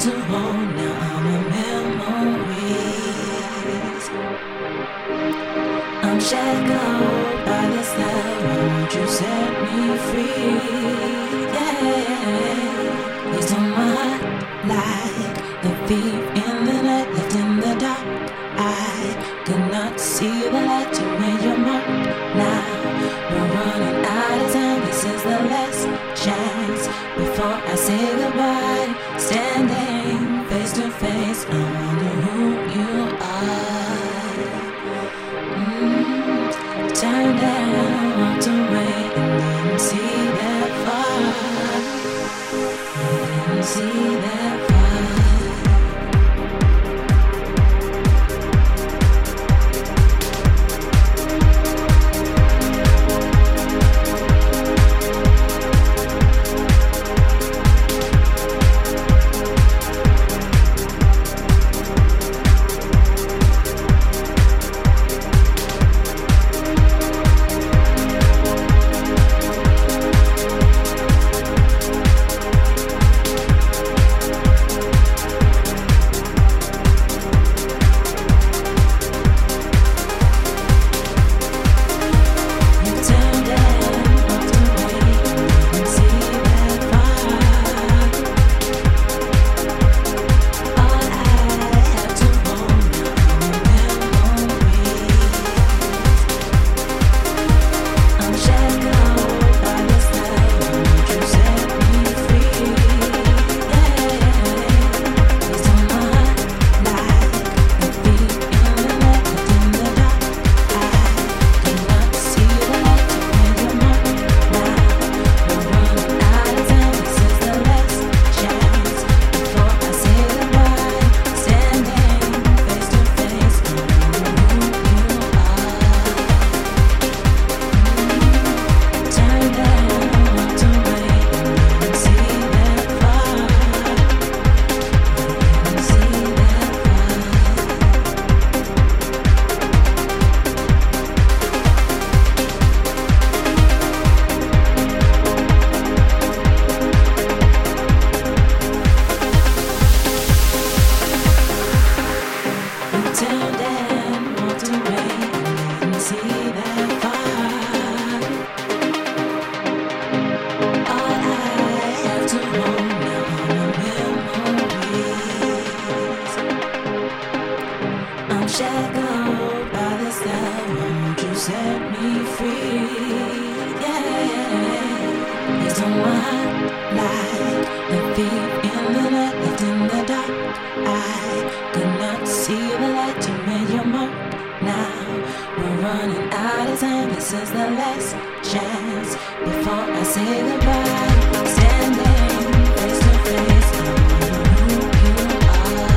to hold. Now I'm a memories. I'm shackled by this love. Won't you set me free? Yeah. It's on my heart like the thief in the night, left in the dark. I could not see the light. You made your mark. Now we're running out of time. This is the last chance before I say goodbye. Standing face to face, I wonder who you are. Turn down, walked away, and didn't see that far. Didn't see that far. Shackled by this love, won't you set me free? Yeah, it's on my heart like the thief in the night, left in the dark. I could not see the light. You made your mark. Now we're running out of time. This is the last chance before I say goodbye. Standing face to face, I wonder who you are.